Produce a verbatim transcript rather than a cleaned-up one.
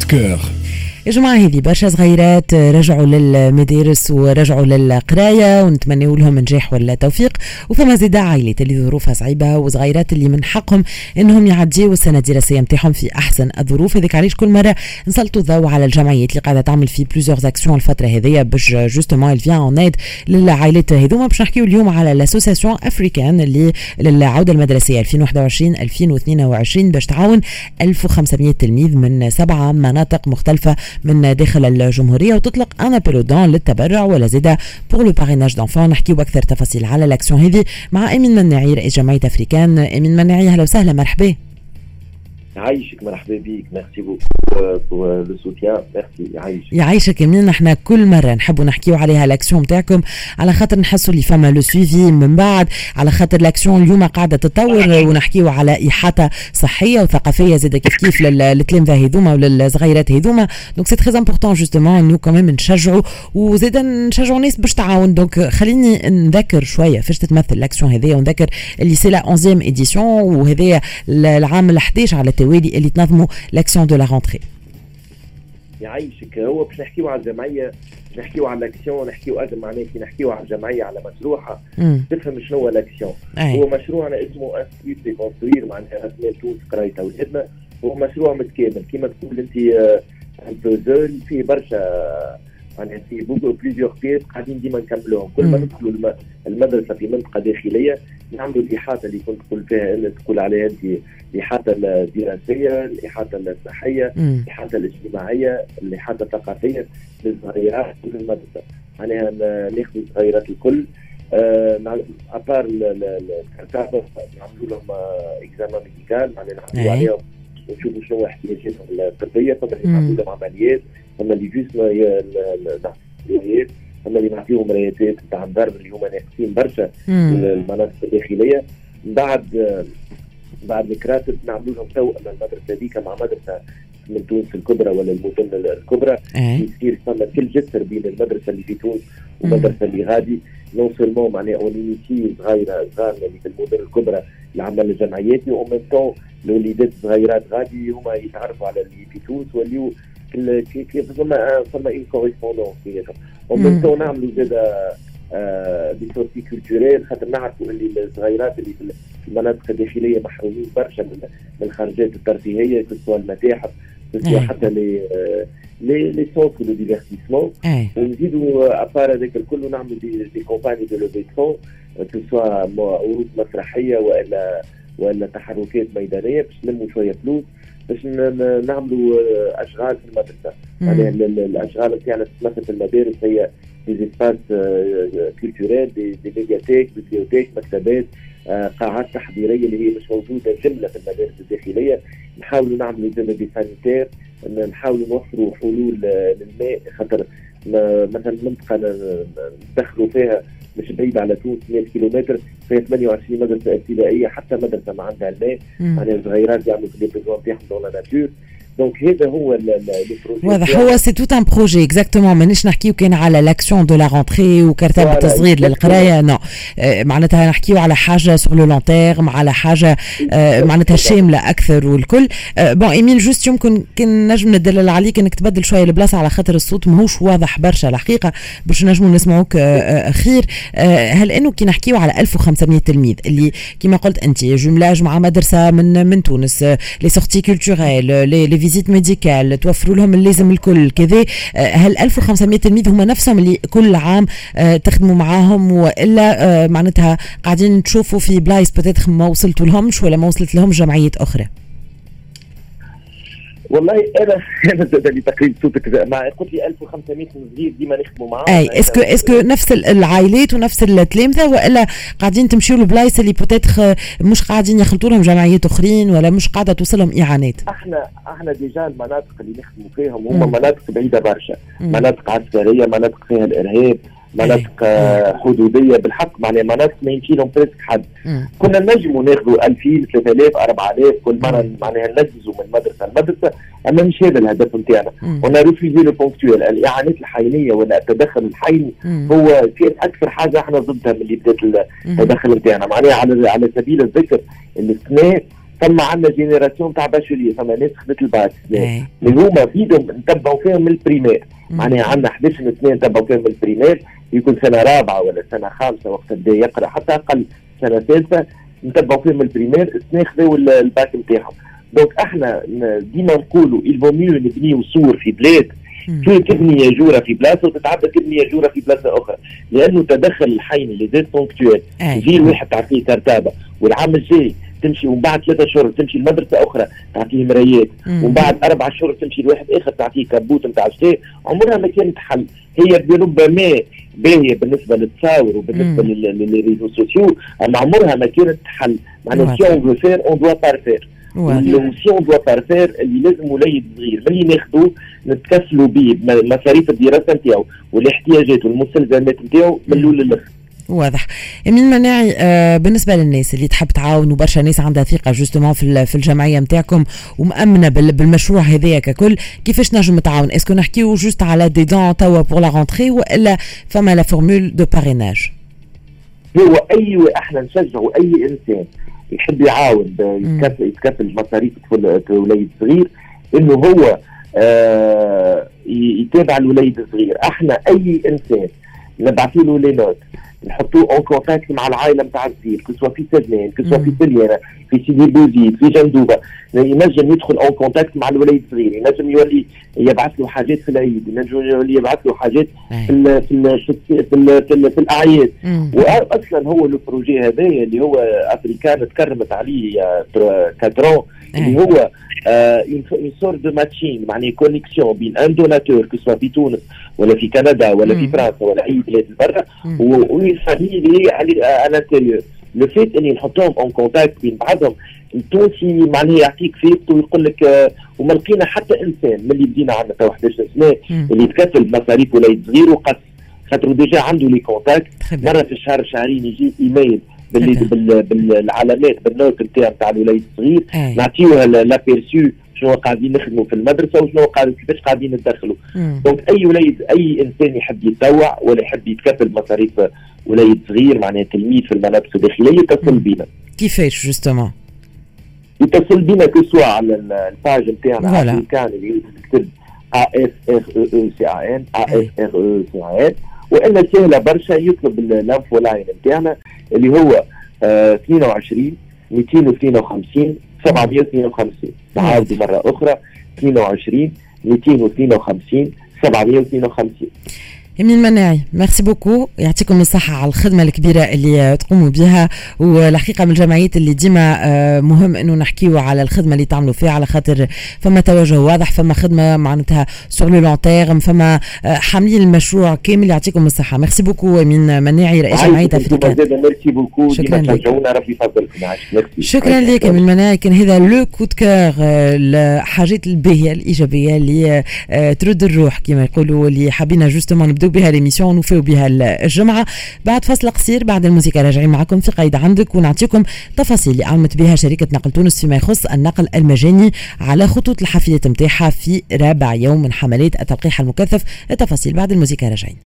كور. يا جماعة هذه برشا صغيرات رجعوا للمدارس ورجعوا للقراية ونتمنوا لهم نجاح ولا توفيق، وفما زيدا عائلات اللي ظروفها صعيبة وصغيرات اللي من حقهم انهم يعديوا السنة الدراسية نتاعهم في احسن الظروف. هذيك علاش كل مرة نسلطوا الضوء على الجمعيات اللي قاعدة تعمل في بلوزيغ اكسيون الفترة هذيا باش جوستومون il vient en aide للعائلات هذوما. باش نحكيو اليوم على لاسوسياسيون افريكان اللي للعودة المدرسية ألفين وواحد وعشرين ألفين واثنين وعشرين باش تعاون ألف وخمسمائة تلميذ من سبعة مناطق مختلفة من داخل الجمهورية، وتطلق أنا بيلودون للتبرع ولا زيادة بور لو باريناج دانفون. نحكيو أكثر تفاصيل على الأكسيون هذه مع أمين مناعي رئيس جمعية أفريكان. أمين مناعي أهلا وسهلا، مرحبا. يعيشك، مرحبا بك، ميرسي بوكو بور لو سوتيان، ميرسي. يعيشك يعيشك يمين. نحنا كل مرة نحبوا نحكيو عليها الأكسيون متاعكم على خاطر نحسوا اللي فما لو سويفي من بعد، على خاطر الأكسيون اليوم قاعدة تتطور ونحكيو على إحاطة صحية وثقافية زيادة كيف كيف للتلامذة هذوما وللصغيرات هذوما. دونك سي تري امبورطون جوستومون انه كمان نشجعوا وزيدا نشجعوا الناس باش تعاون. دونك خليني نذكر شوية فاش تتمثل الأكسيون هذيا، ونذكر اللي سي لا أونزيام إديسيون وهذايا العام الحداش على التوالي اللي تنظموا لاكسيون دو لا رونتري. يعيشك. هو باش نحكيو على الجمعيه، نحكيو على الاكسيون، نحكيو اكثر معناه كي نحكيو على الجمعيه على مشروعها تفهم شنو هو الاكسيون. هو مشروعنا اسمه انستيتيو دي كونستروير، معناها اسماء تونس قرايتها ولادنا. هو مشروع متكامل كيما تقول انت امبوزول فيه برشا، يعني في بوكو بليزيور بيس قاعدين ديما نكملوهم. كل ما ندخلوا المدرسه في منطقه داخليه نعملوا الاحاطه اللي كنت تقول فيها اللي تقول عليها انت، الاحاطه الدراسيه، الاحاطه الصحيه، الاحاطه الاجتماعيه، الاحاطه الثقافيه للصغيرات في المدرسه. معناها ناخذ الصغيرات الكل ابار الكتابه، نعملوا لهم اكزامان ميديكال، معناها نعملوا عليهم ونشوفوا شنو احتياجاتهم الطبيه. طبعا نعملوا لهم عمليات، اما اللي جسم العمليات، اما اللي نعطيهم رياضات نتاع الضرب اللي هما ناقصين برشا المناطق الداخليه. بعد بعد الكراتب نعملوا لهم توأم المدرسه هذيك مع مدرسه من تونس الكبرى ولا المدن الكبرى، يصير فما كل جسر بين المدرسه اللي في تونس والمدرسه اللي غادي. نون سولمون معناها اونيتي صغيره صغار اللي في المدن الكبرى العمل الجمعياتي، ومن طون الوليدات الصغيرات غادي هما يتعرفوا على اللي في تونس واللي كيف فما فما اون كوريسبوندونس بيناتهم. ومن طون نعملوا زاده دي سورتي كولتوريل، خاطر نعرفوا اللي الصغيرات اللي في المناطق الداخليه محرومين برشا من الخارجات الترفيهيه، كسوا المتاحف، كسوا حتى لي لي لي سونتر دو ديفيرتيسمون. ونزيدوا ابار هذاك الكل نعملوا دي دي كومباني دو لوفي فون، كسوا عروض مسرحيه والا ولا تحركات ميدانيه باش نلموا شويه فلوس باش نعملوا اشغال في المدرسه. يعني الاشغال نتاعنا تتمثل في المدارس هي دي اسباس كولتوريل، دي ميدياتيك، بيبليوتيك، مكتبات، قاعات تحضيريه اللي هي مش موجوده جمله في المدارس الداخليه. نحاولوا نعملوا زي دي سانيتير، نحاولوا نوفروا حلول للماء، خاطر مثلا منطقه ندخلوا فيها مش بعيد على تونس مئة كيلومتر فيها ثمانية وعشرين مدرسه ابتدائيه، حتى مدرسه ما عندها الماء، يعني الصغيرات يعملوا في لي بيزوان تاعهم دون لا ناتور. دونك هذا هو البروجي. واضح، هو سي توت ان بروجي اكزاكتومون. مانيش نحكيو كان على لاكسيون دو لا رونتري وكرتبه تصغير للقرايه، نو آه معناتها نحكيو على حاجه سور لو لون تيرم، على حاجه آه معناتها شامله اكثر والكل. آه بون ايمين جوست يمكن كان نجم ندلل عليك انك تبدل شويه البلاصه على خاطر الصوت ماهوش واضح برشا الحقيقه باش نجموا نسمعوك آه خير. آه هل انه كي نحكيو على ألف وخمسمائة تلميذ اللي كما قلت انت جملاج مع مدرسه من من تونس، لي سورتي كولتوريل، لي فيزيت ميديكال، توفروا لهم اللازم الكل كذا، هل ألف وخمسمائة تلميذ هم نفسهم اللي كل عام تخدموا معاهم، والا معناتها قاعدين تشوفوا في بلايص بتاتخ ما وصلتوا لهمش ولا ما وصلت لهم جمعيات اخرى؟ والله انا انا زاد لي تقريبا صوتك مع قلت لي ألف وخمسمائة صغير ديما نخدموا معاهم. اي اسكو اسكو نفس العائلات ونفس التلامذه، والا قاعدين تمشيوا لبلايص اللي بوتيتر مش قاعدين يخلطوا لهم جمعيات اخرين ولا مش قاعده توصلهم اعانات؟ احنا احنا ديجا المناطق اللي نخدموا فيهم هم مناطق بعيده برشا، مناطق عسكريه، مناطق فيها الارهاب، مناطق حدوديه بالحق، معناها مناطق ما يمشي لهم بريسك حد. كنا نجموا ناخذوا ألفين ثلاثة آلاف أربعة آلاف كل مره، معناها ننجزوا من مدرسه لمدرسه، اما مش هذا الهدف نتاعنا. ونا ريفيزي لو بونكتويل، الاعانات الحينيه ولا التدخل الحيني هو كان اكثر حاجه احنا ضدها من اللي بدات التدخل نتاعنا. معناها على على سبيل الذكر السنه ثم عندنا جينيراسيون تاع باشوليه، ثم ناس خدت الباك اللي هما بيدهم نتبعوا فيهم من البريمير. معناها عندنا احد عشر سنه نتبعوا فيهم من البريمير، يكون سنه رابعه ولا سنه خامسه وقت بدا يقرا، حتى اقل سنه ثالثه نتبعوا فيهم من البريمير، السنه خذوا الباك نتاعهم. دونك احنا ديما نقولوا الفو ميو نبنيو صور في بلاد كي تبني ياجوره في بلاصه وتتعدى تبني ياجوره في بلاصه اخرى، لانه تدخل الحين اللي زاد بونكتوال جيل واحد تعطيه كرتابه، والعام الجاي تمشي ومن بعد ثلاثة شهور تمشي لمدرسه اخرى تعطيه مرايات، ومن بعد اربع شهور تمشي لواحد اخر تعطيه كبوت نتاع شتاء. عمرها ما كانت حل، هي بربما باهيه بالنسبه للتصاور وبالنسبه للريزو سوسيو، اما عمرها ما كانت حل. معناها سي اون فو فير اون دوا بارفير، سي اون دوا بارفير اللي لازم وليد صغير ملي ناخذوه نتكفلوا به بمصاريف الدراسه نتاعو والاحتياجات والمستلزمات نتاعو من الاول للاخر. واضح. امين مناعي، آه بالنسبه للناس اللي تحب تعاون وبرشا ناس عندها ثقه جوستومون في في الجمعيه نتاعكم ومامنه بالمشروع هذايا ككل، كيفاش نجم نتعاون؟ اسكو نحكيو جوست على دي دون توا بور لا رونتري ولا فما لا فورمول دو باريناج؟ هو اي احنا نشجعوا اي انسان يحب يعاون يتكفل يتكفل مصاريف وليد صغير انه هو آه يتابع الوليد الصغير. احنا اي انسان نبعث له لي نوت نحطوه اون كونتاكت مع العائله نتاع الصغير، كسوا في سجنان، كسوا في سليانه، في سيدي بوزيد، في جندوبه، ينجم يدخل اون كونتاكت مع الوليد الصغير، ينجم يولي يبعث له حاجات في العيد، ينجم يولي يبعث له حاجات في ال في ال في ال في, ال في, ال في الاعياد. واصلا هو لو بروجي هذايا اللي هو افريكان تكرمت عليه كادرون، اللي هو اون سور دو ماتشين، معناها كونيكسيون بين ان دوناتور كسوا في تونس ولا في كندا ولا في فرنسا ولا اي بلاد برا ويفامي اللي على الانتيريور. لو فيت اني نحطهم اون كونتاكت بين بعضهم، التونسي معناها يعطيك فيقته ويقول لك وما لقينا حتى انسان من اللي بدينا عندنا تو احد عشر سنه اللي يتكفل بمصاريف وليد صغير وقص، خاطر ديجا عنده لي كونتاكت مره في الشهر شهرين يجي ايميل بالعلامات بالنوت نتاع نتاع الوليد الصغير، نعطيوها لابيرسيو شنو قاعدين نخدموا في المدرسه وشنو قاعدين كيفاش قاعدين ندخلوا. دونك اي وليد اي انسان يحب يتطوع ولا يحب يتكفل بمصاريف وليد صغير معناها تلميذ في الملابس الداخليه يتصل بينا. كيفاش جوستومون؟ يتصل بينا كسوا على الباج نتاعنا كان اللي يكتب ا اف ار او سي ا ان ا اف ار او سي ا ان، والا سهله برشا يطلب الانفو لاين نتاعنا اللي هو اثنين وعشرين مئتين واثنين وخمسين سبعمئة واثنين وخمسين. نعاود مره اخرى اثنين وعشرين مئتين واثنين وخمسين سبعمئة واثنين وخمسين. امين مناعي، ميرسي بوكو، يعطيكم الصحة على الخدمة الكبيرة اللي تقوموا بها، والحقيقة من الجمعيات اللي ديما مهم انه نحكيو على الخدمة اللي تعملوا فيها، على خاطر فما توجه واضح، فما خدمة معناتها سور لو لون تيرم، فما حاملين المشروع كامل. يعطيكم الصحة. ميرسي بوكو امين مناعي، رئيس جمعية افريكان. ميرسي بوكو، شكرا لك. ربي يفضلكم. شكرا لك امين مناعي. كان هذا لو كود كور، الحاجات الباهية الإيجابية اللي ترد الروح كما يقولوا، اللي حابين جوستومون نبدو بها ليميسيون ونوفيو بها الجمعة. بعد فصل قصير بعد الموسيقى راجعين معكم في قايد عندك، ونعطيكم تفاصيل اللي قامت بها شركة نقل تونس فيما يخص النقل المجاني على خطوط الحافلات نتاعها في رابع يوم من حملات التلقيح المكثف. التفاصيل بعد الموسيقى راجعين.